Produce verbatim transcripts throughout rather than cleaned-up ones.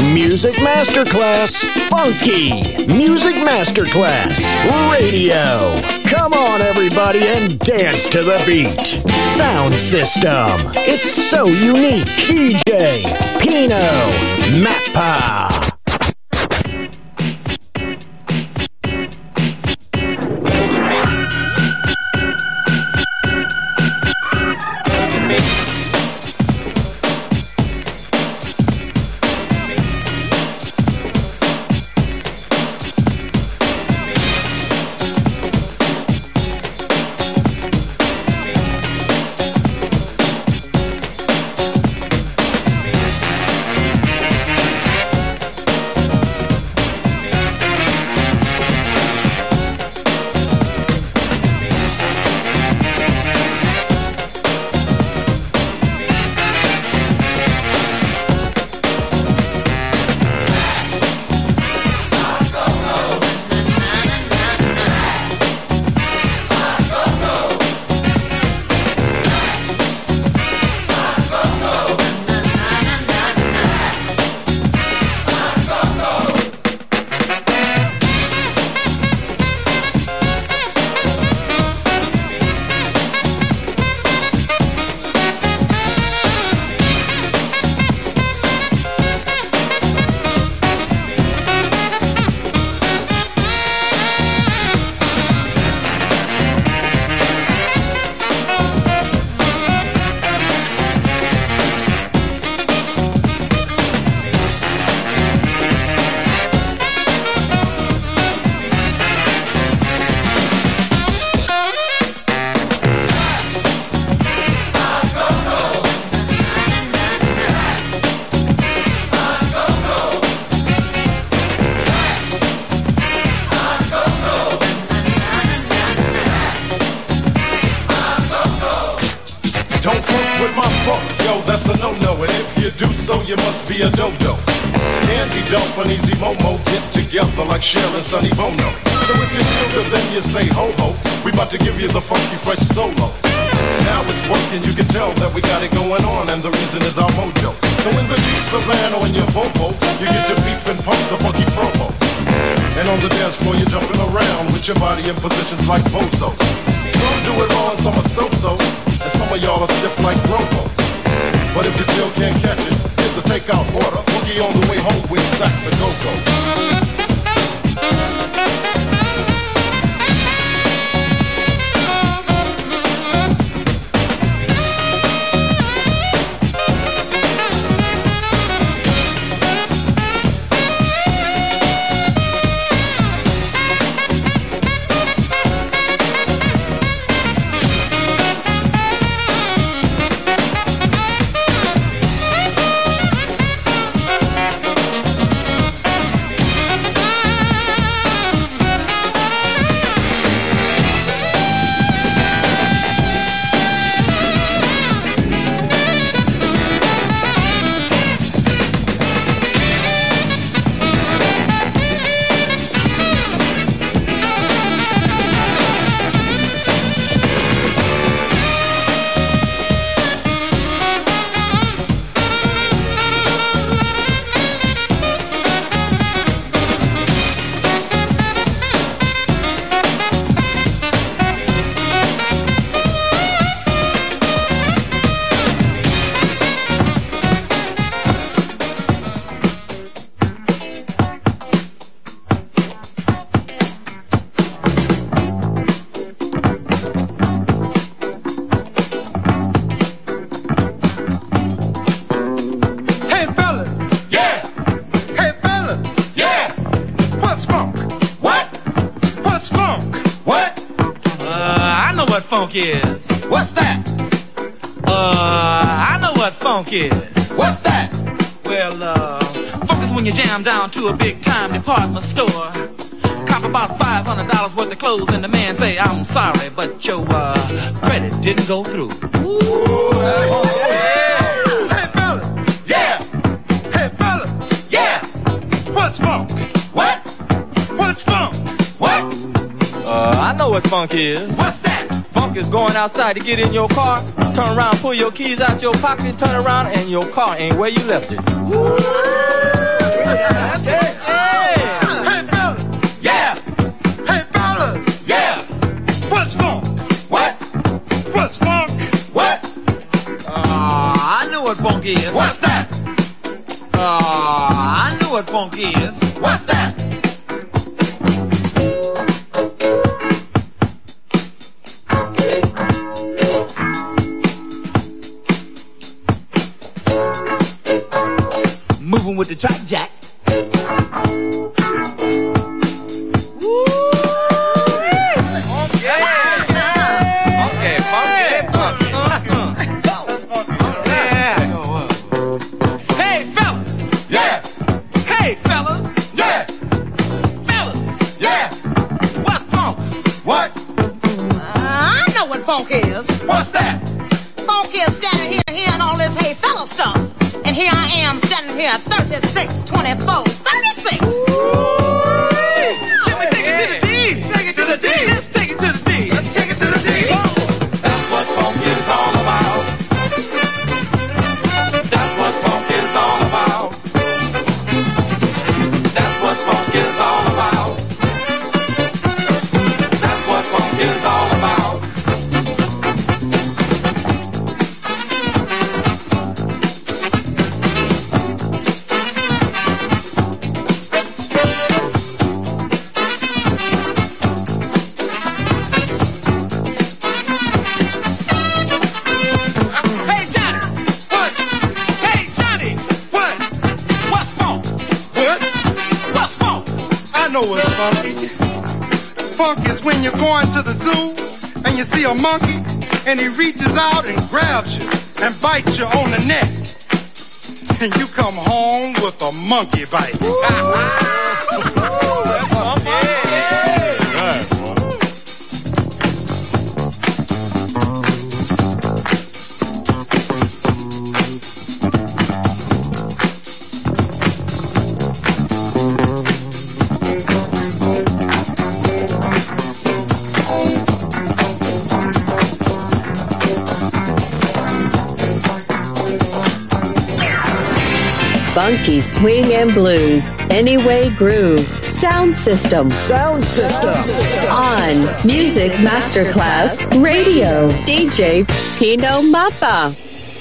Music Masterclass Funky. Music Masterclass Radio. Come on, everybody, and dance to the beat. Sound system. It's so unique. D J Pino Mappa. Sharon, Sonny Bono. So if you feel good, then you say ho ho. We about to give you the funky fresh solo. Now it's working, you can tell that we got it going on, and the reason is our mojo. So in the Jeep, the van, or in your Volvo, you get to peep and pump the funky promo. And on the dance floor, you're jumping around with your body in positions like Bozo. Some do it all and some are so-so, and some of y'all are stiff like Robo. But if you still can't catch it, here's a takeout order. Boogie on the way home with Sax a Go-Go. Is. What's that? Uh, I know what funk is. What's that? Well, uh, funk is when you jam down to a big time department store, cop about five hundred dollars worth of clothes, and the man say, I'm sorry, but your uh, credit didn't go through. Ooh, that's funk. Yeah. Hey, fellas. Yeah. Hey, fellas. Yeah. What's funk? What? What's funk? What? Uh, I know what funk is. What's that? Funk is going outside to get in your car, turn around, pull your keys out your pocket, turn around, and your car ain't where you left it. Woo! Is. What's that? Uh, I know what funk is. What's that? Moving with the top jack. Funk is. What's that? Funk is standing here hearing all this hey fella stuff. And here I am standing here at thirty-six, twenty-four, thirty-six. Let me take it to the D. Take it to the D. Let's take it to the D. Let's take it to the D. That's what funk is all about. That's what funk is all about. That's what funk is all about. That's what funk is all about. Funk is when you're going to the zoo and you see a monkey and he reaches out and grabs you and bites you on the neck. And you come home with a monkey bite. Funky swing and blues, Anyway Groove, Sound System. Sound System. On Music Masterclass Radio, D J Pino Mappa.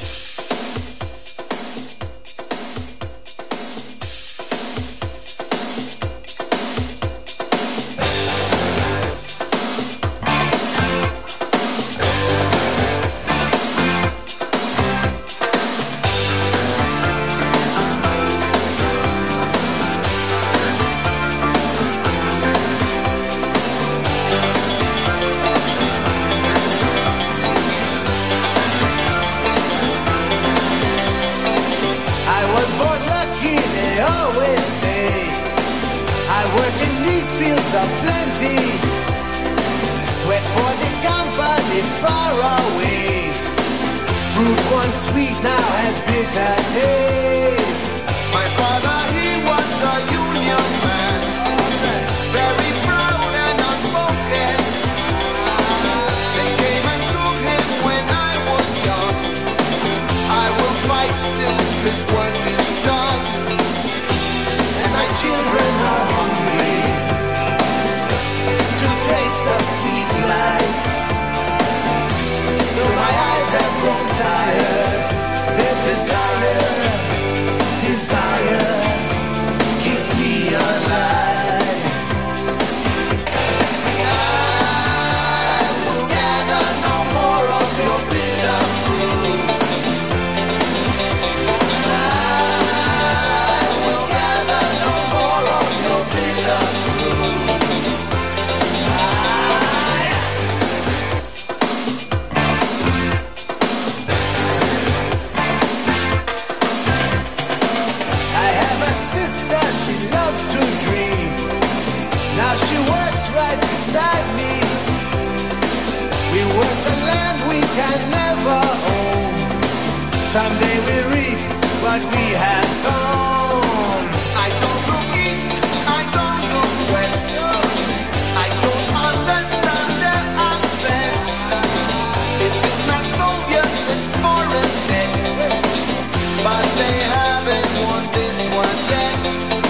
Someday we reap what we have sown. I don't go east, I don't go west. I don't understand their accents. If it's not Soviet, it's foreign then. But they haven't won this one yet.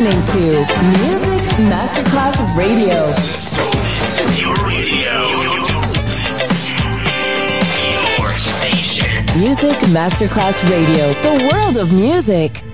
listening to Music Masterclass Radio. This is your radio. Your station. Music Masterclass Radio. The world of music.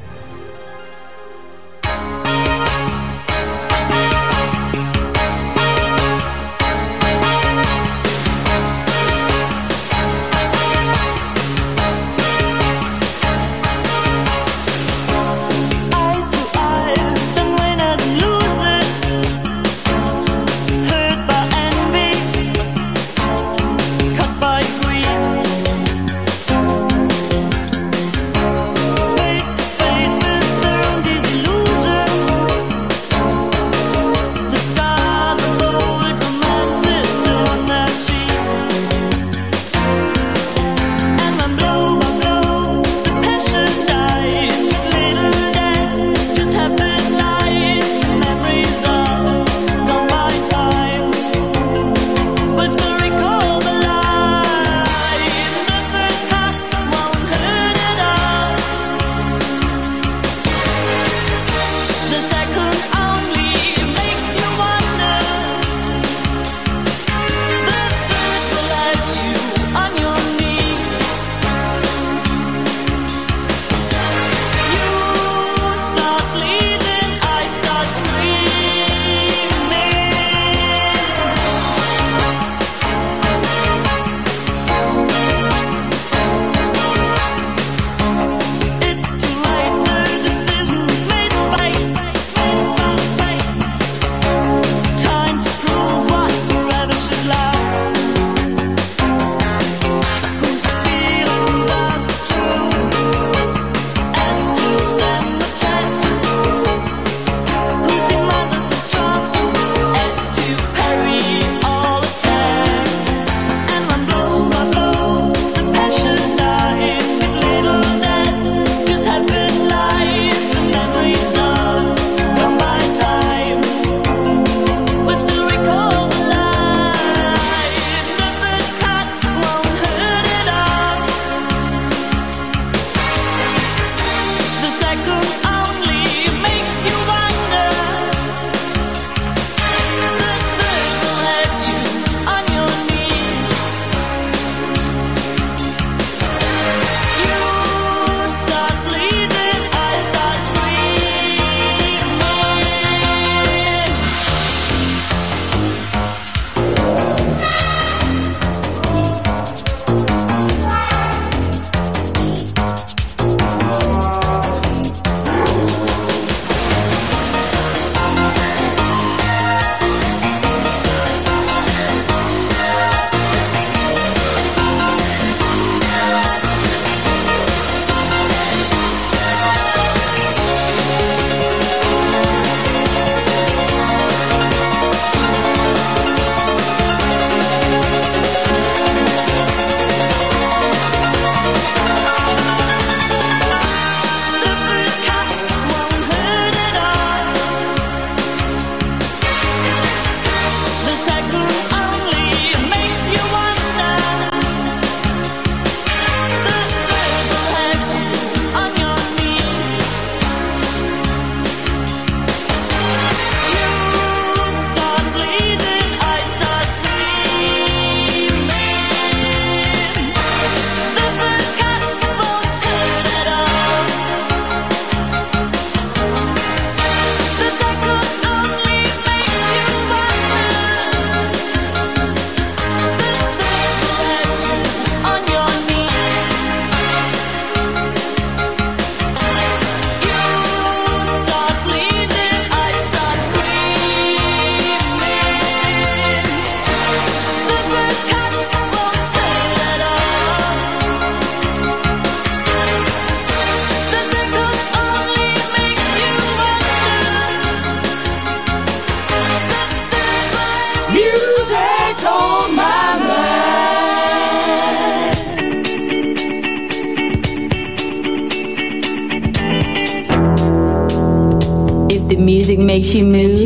The music makes you move.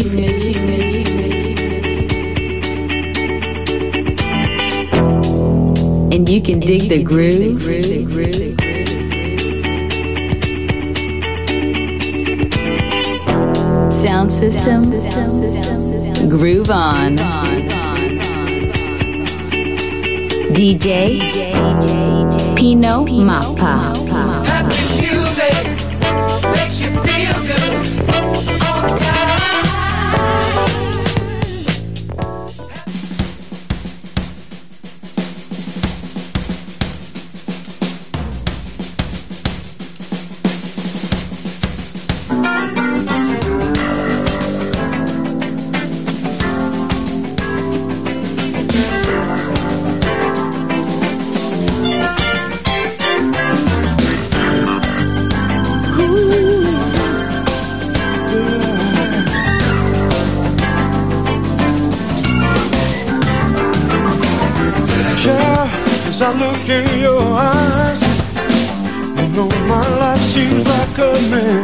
And you can dig the groove. system. Groove on. D J Pino Mappa. Happy music makes you feel good all the time. As I look in your eyes, you know my life seems like a man.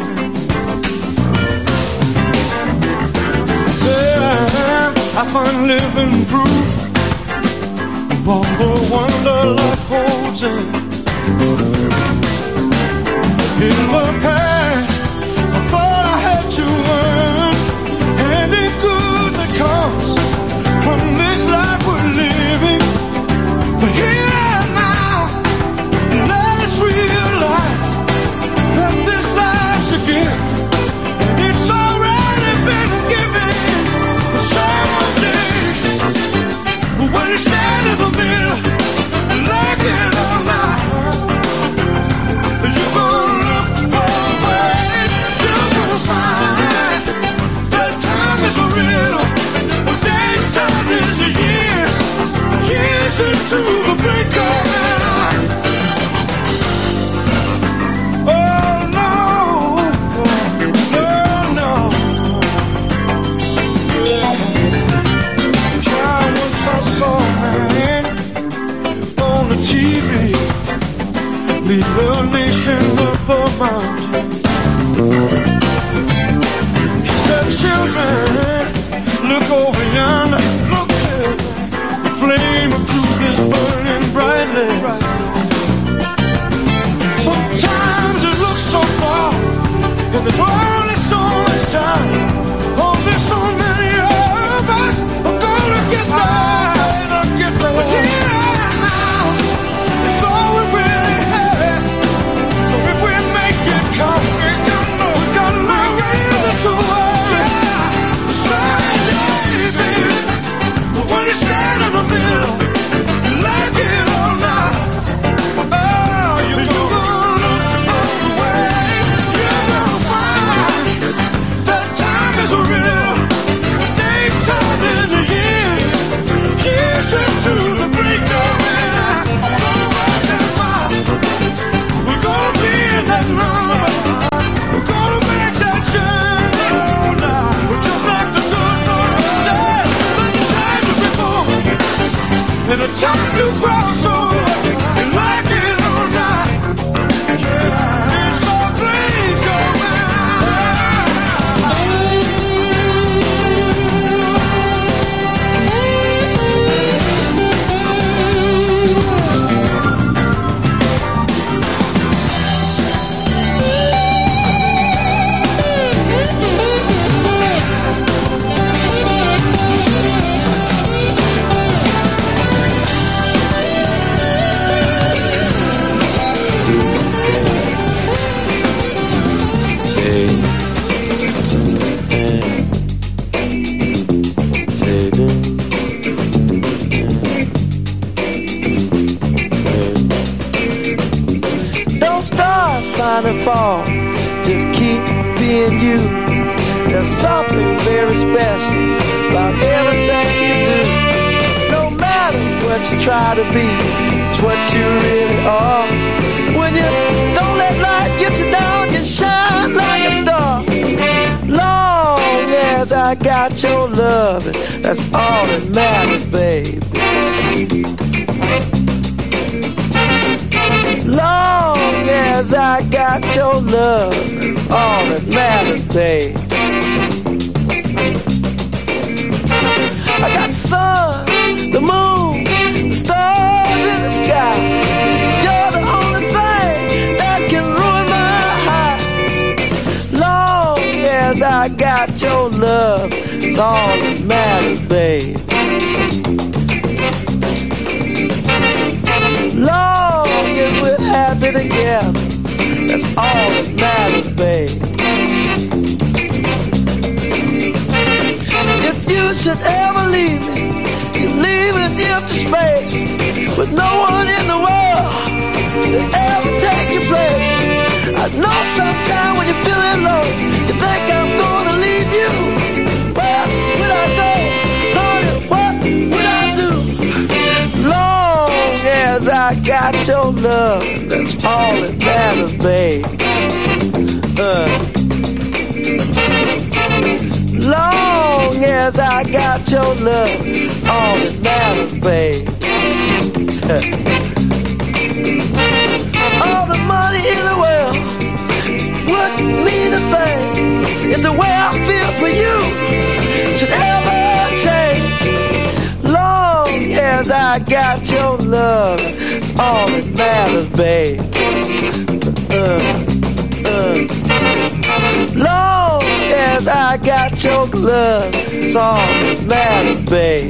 There I find living proof of all the wonder life holds in. In the past, I thought I had to earn any good that comes from this life we're living. But here again, and it's already been given. Someday, when you stand in the middle, like it or not, you're gonna look away. You're gonna find that time is real. Days time is years, years into the break of night. T V, lead the nation up a mountain. He said, children, look over yonder, look till the flame of truth is burning brightly. Sometimes it looks so far, and there's only so much time. Only so many of us are gonna get there, gonna get there. But yeah, and a time to cross over, and like it or not, yeah, it's all blink of an fall. Just keep being you. There's something very special about everything you do. No matter what you try to be, it's what you really are. When you don't let life get you down, you shine like a star. Long as I got your love, that's all that matters, baby. Long as I got your love, that's all that matters, babe. I got the sun, the moon, the stars in the sky. You're the only thing that can ruin my high. Long as I got your love, It's all that matters, babe. Long as we're happy together, that's all that matters, babe. If you should ever leave me, you leave an empty space with no one in the world to ever take your place. I know sometime when you're feeling low, you think I'm gonna leave you. Where would I go? Lord, what would I do? Long as I got your love, that's all that matters, babe. Uh. Long as I got your love, all that matters, babe. All the money in the world wouldn't mean a thing if the way I feel for you should ever change. Long as I got your love, it's all that matters, babe. Uh, uh. Long as I got your love, it's all that matters, babe.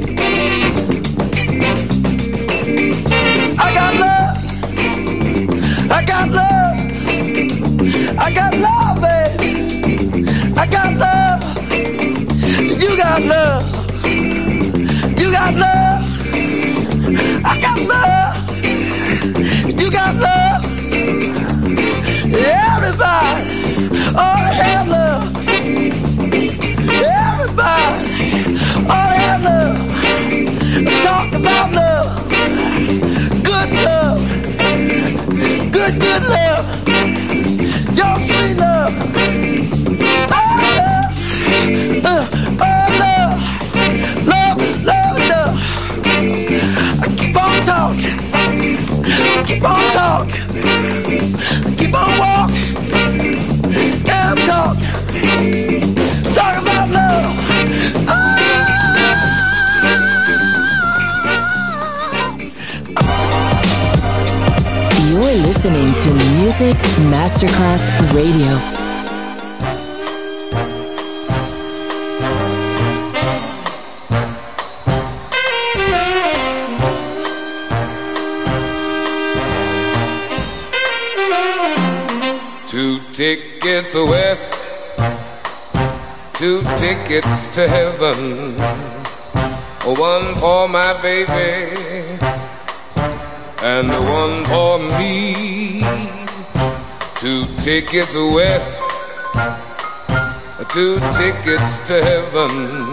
I got love, I got love, I got love, baby. I got love, you got love, you got love, I got love, you got love. Everybody ought to have love. Everybody ought to have love. Talk about love. Good love. Good, good love. Your sweet love. Oh, love. Uh, oh, love. Love, love, love. I keep on talking. Keep on talking. Keep on walking. I'm talking, talking about love. Oh. You're listening to Music Masterclass Radio. Two tickets west, two tickets to heaven, one for my baby and one for me. Two tickets west, two tickets to heaven,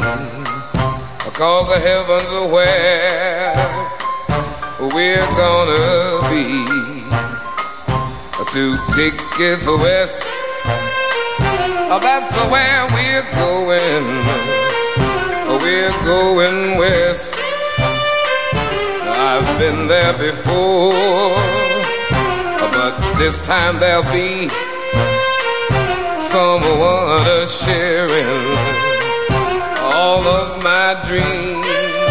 cause heaven's where we're gonna be. Two tickets west, oh, that's where we're going. We're going west. I've been there before, but this time there'll be someone sharing all of my dreams.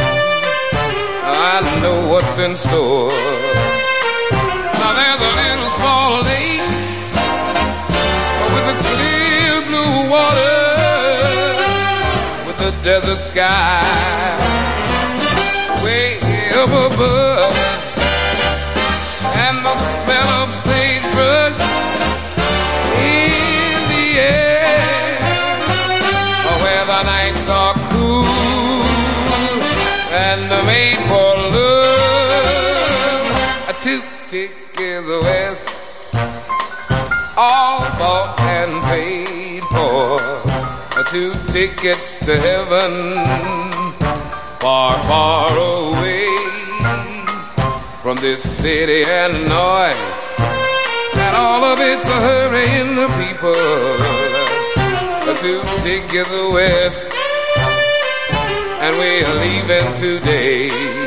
I know what's in store. Now there's a little small lake with a clear blue water, with a desert sky way up above, and the smell of sagebrush in the air, where the nights are cool and made for love. Two tickets west, all bought and paid for. Two tickets to heaven, far, far away from this city and noise, and all of it's a hurrying the people. Two tickets west, and we're leaving today.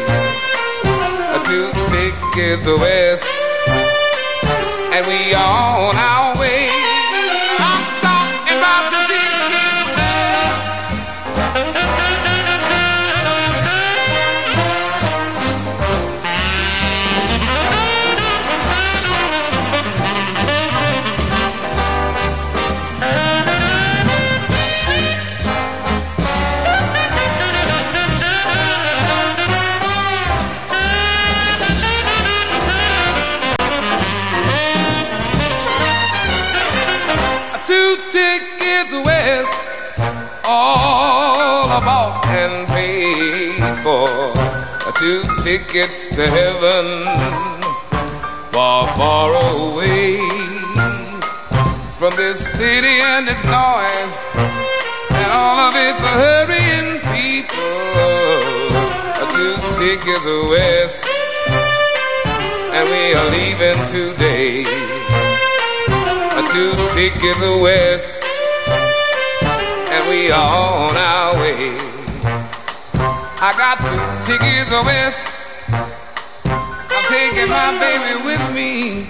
Two tickets west, and we are on our way. I'm talking about the tickets west. two tickets to heaven, far, far away from this city and its noise and all of its hurrying people. Two tickets west, and we are leaving today. Two tickets west, and we are on our way. I got two tickets west, I'm taking my baby with me.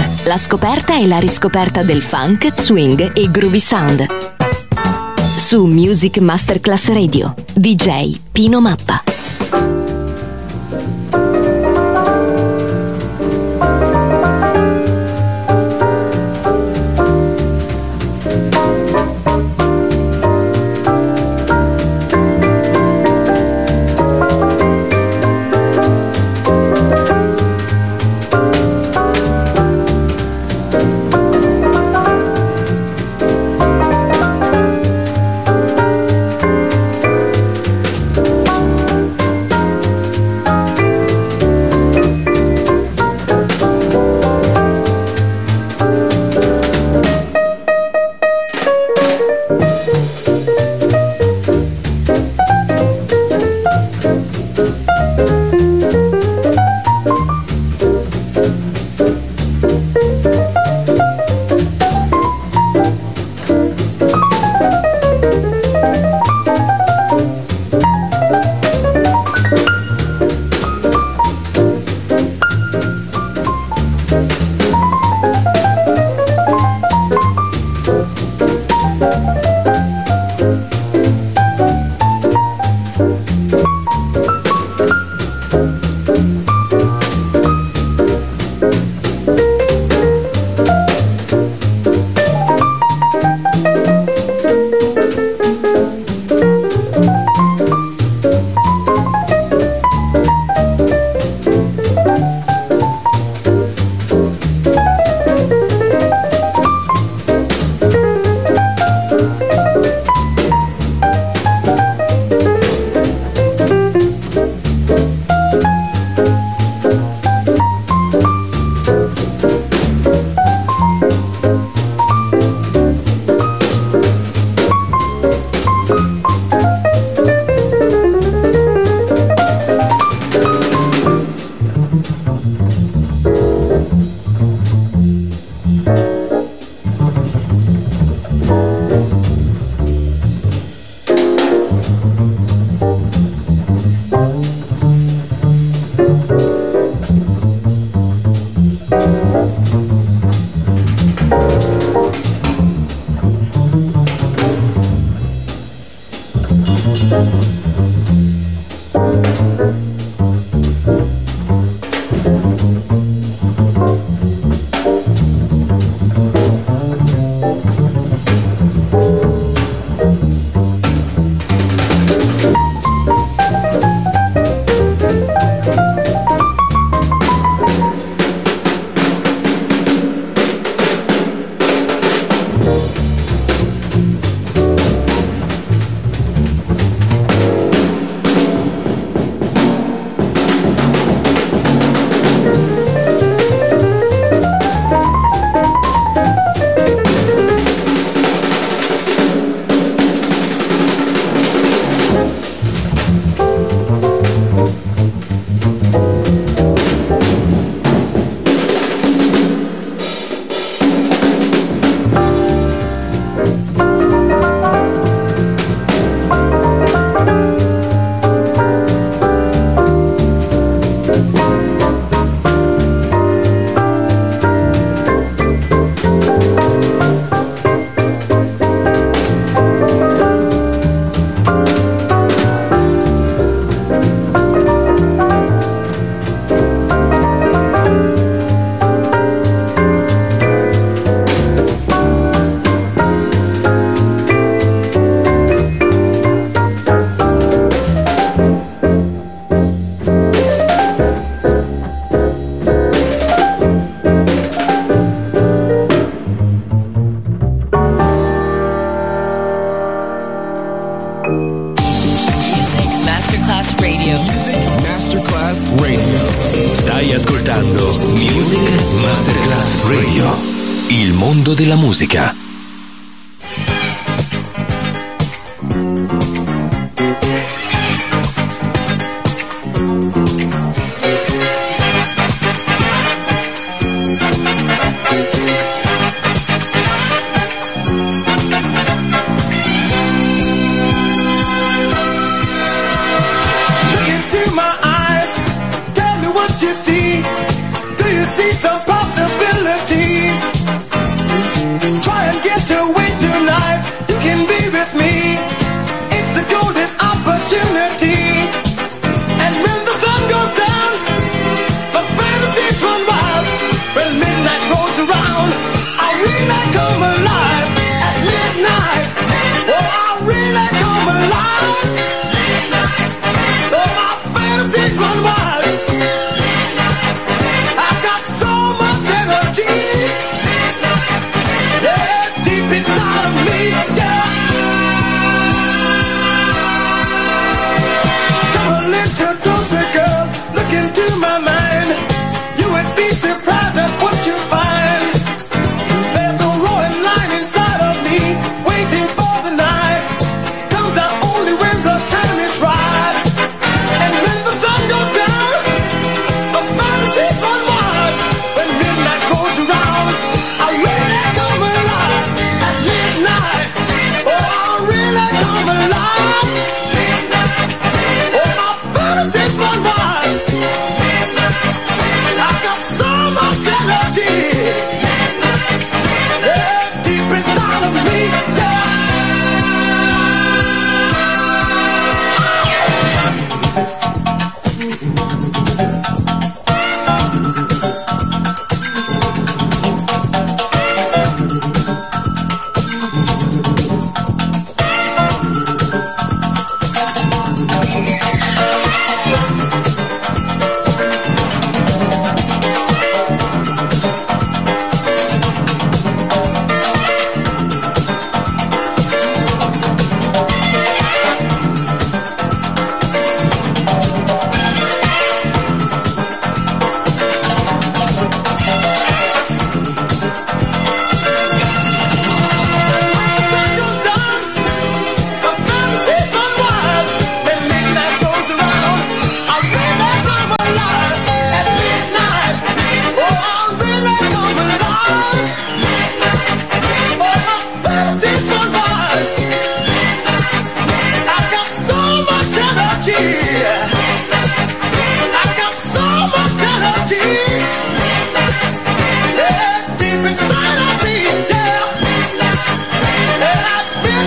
La scoperta e la riscoperta del funk, swing e groovy sound. Su Music Masterclass Radio, D J Pino Mappa. Radio. Music Masterclass Radio. Stai ascoltando Music Masterclass Radio. Il mondo della musica. Some possibility.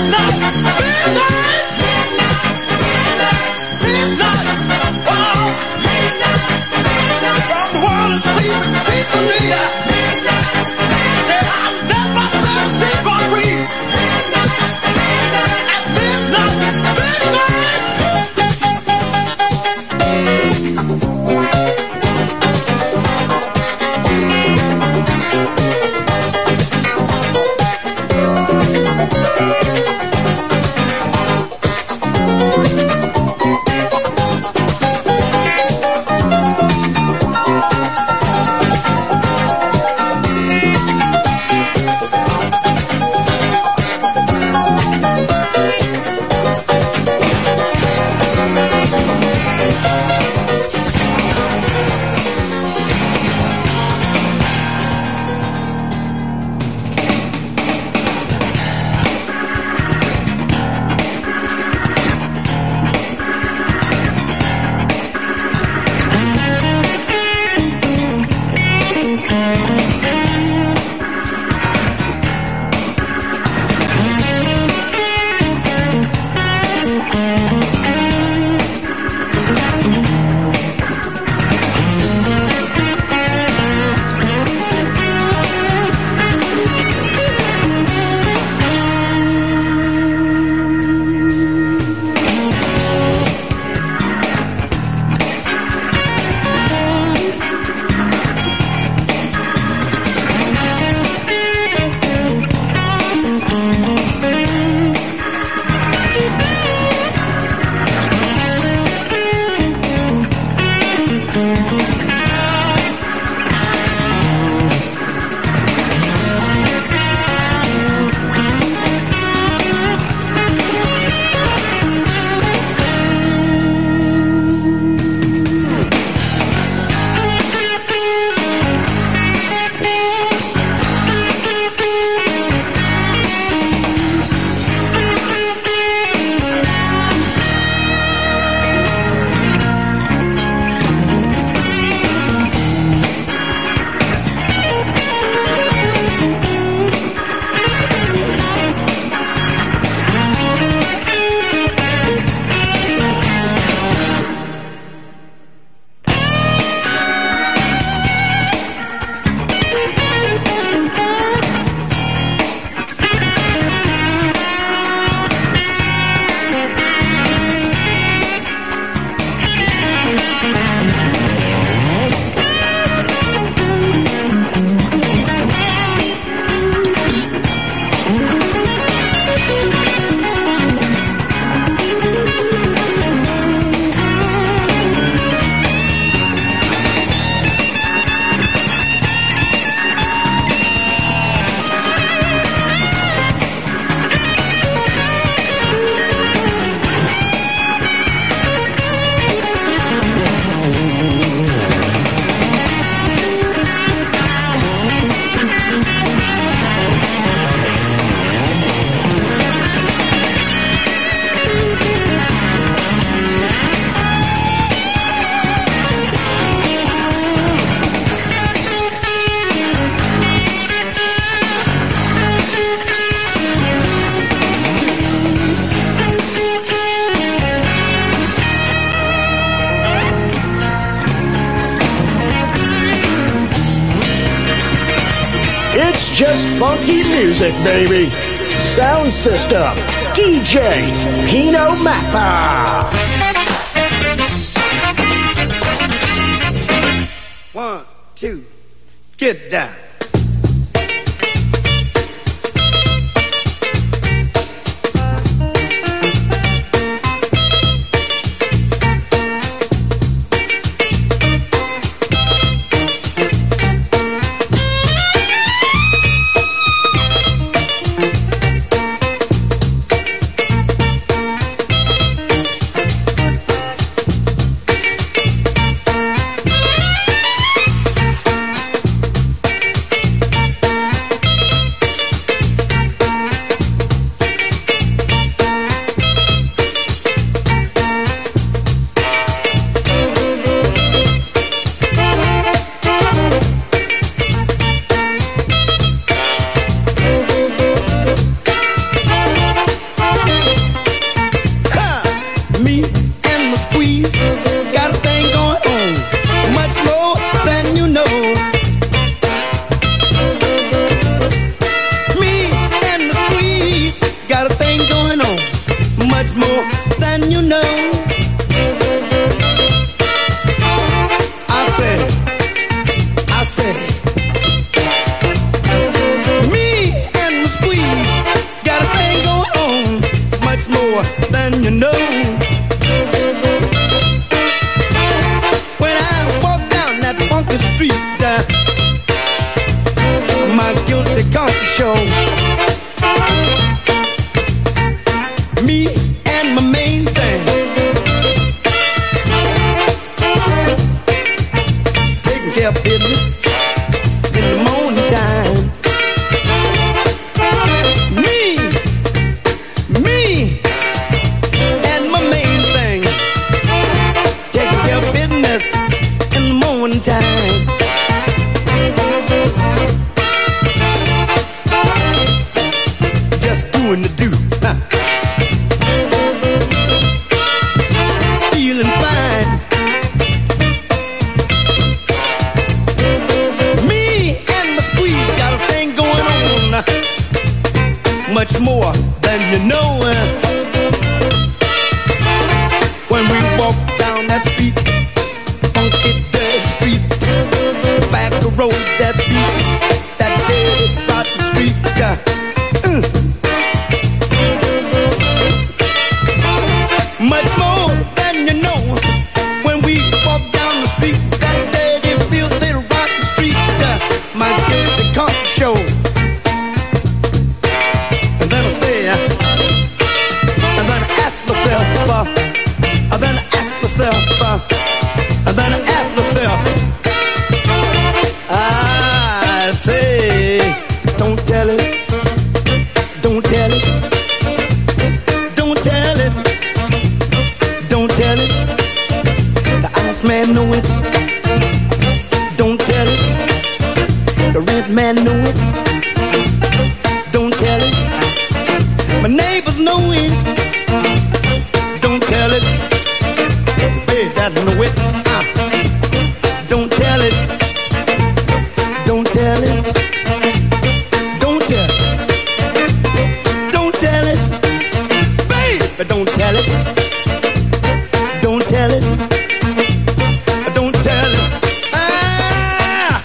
just funky music, baby. Sound system, D J Pino Mappa. One, two, get down. much more than you know. When I walk down that funky street, uh, my guilty conscience show. Me and my main thing, taking care of business in the morning time. Me, me and my main thing, taking care of business in the morning time. Just doing the do, huh? Feeling fine. Me and my squeeze got a thing going on, much more than you know. When we walk down that street, funky dirty street, the back road that street, that dirty rotten street. Uh, uh. Much more than you know. When we walk down the street, that dirty, filthy, rotten street, uh, my guilty conscience show. And then I say, uh, and then I ask myself, uh, and then I ask myself, uh, and then I ask myself, I say, don't tell it, don't tell it, don't tell it, don't tell it. The ice man know it, don't tell it. The red man know it, don't tell it. My neighbors know it, don't tell it. Hey, that know it, uh, don't tell it, don't tell it, don't tell it, don't tell it, baby, don't tell it, don't tell it, don't tell it. Ah!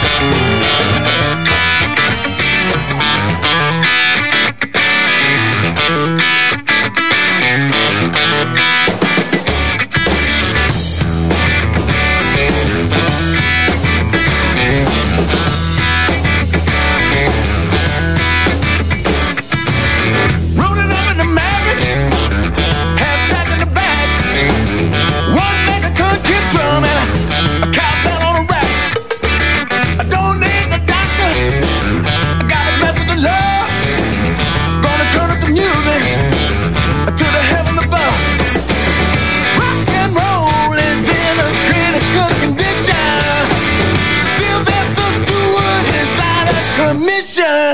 Rolling up in the Maverick, half stacked in the back. One make a country drum and a, a cowbell on a rack. I don't need no doctor, I got a message of love. Gonna turn up the music to the heaven above. Rock and roll is in a critical condition. Sylvester Stewart is out of commission.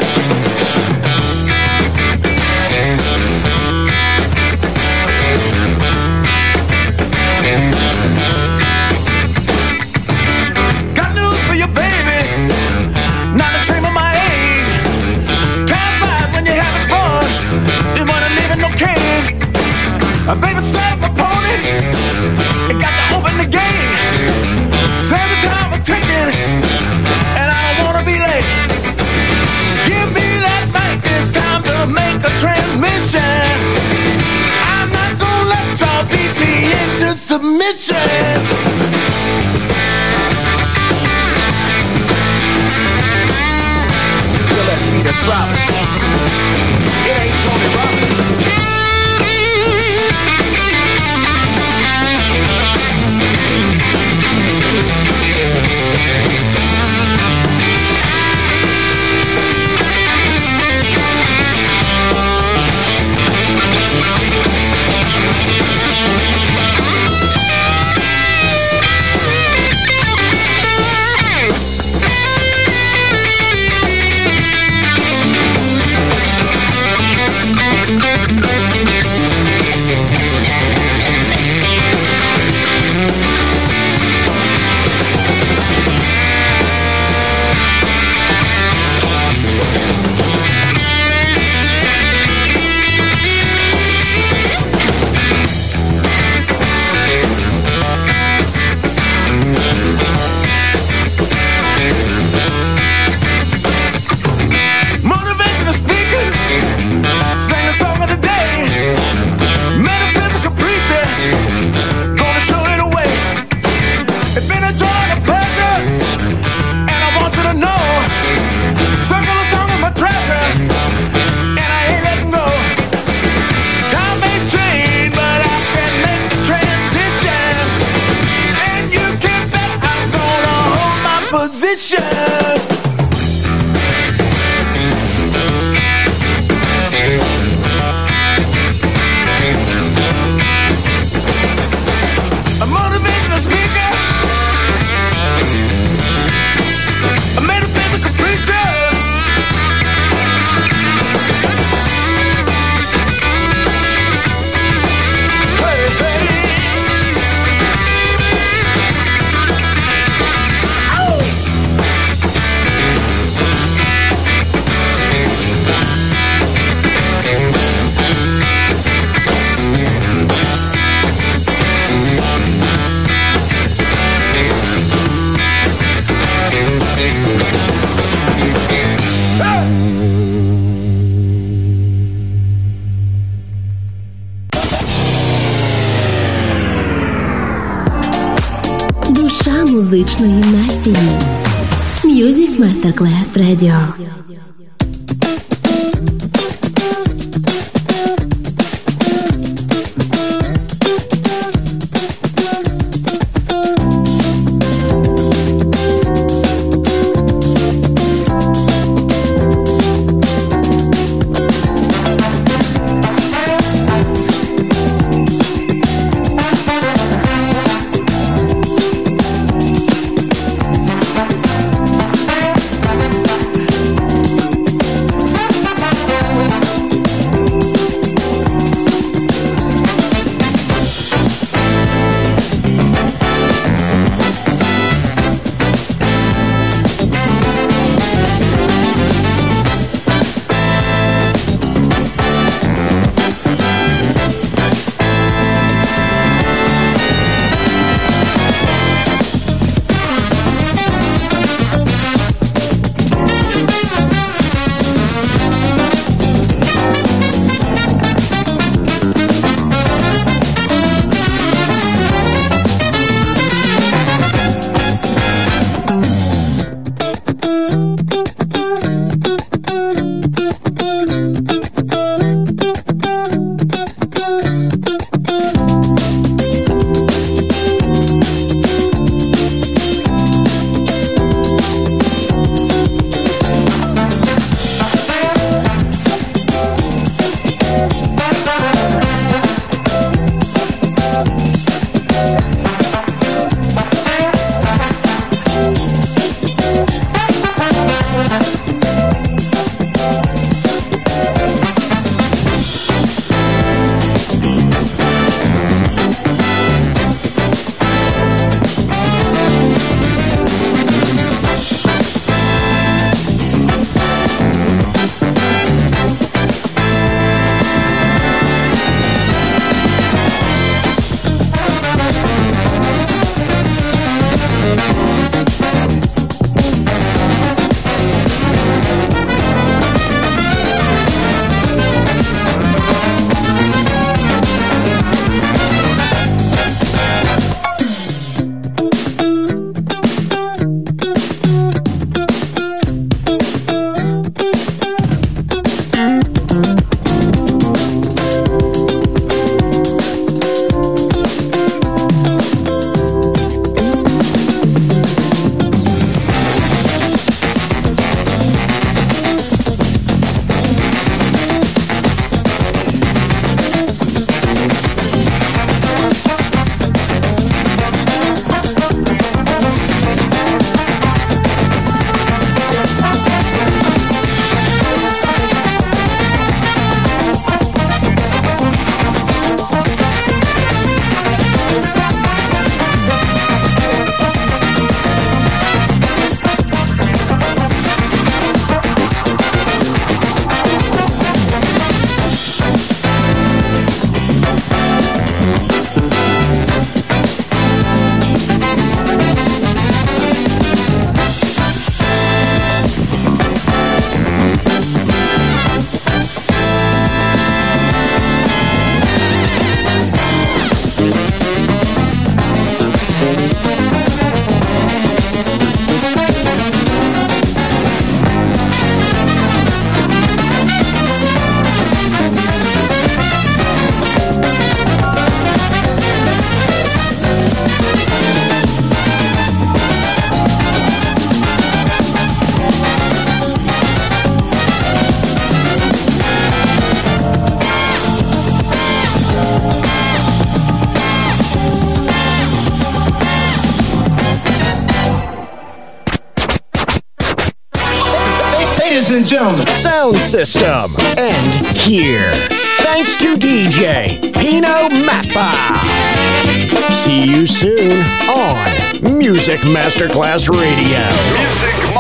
Got news for you, baby. Not ashamed of my age. Time flies when you're having fun. Didn't wanna live in no cage. A baby sat my pony. It got to open the gate. Said the time was ticking, and I don't wanna be late. Give me that mic. It's time to make a transmission. I'm not gonna let y'all beat me into submission. Feel that beat is dropping. It ain't Tony Robbins. музичної нації. Music Masterclass Radio. Ladies and gentlemen, Sound System, and here. Thanks to D J Pino Mappa. See you soon on Music Masterclass Radio. Music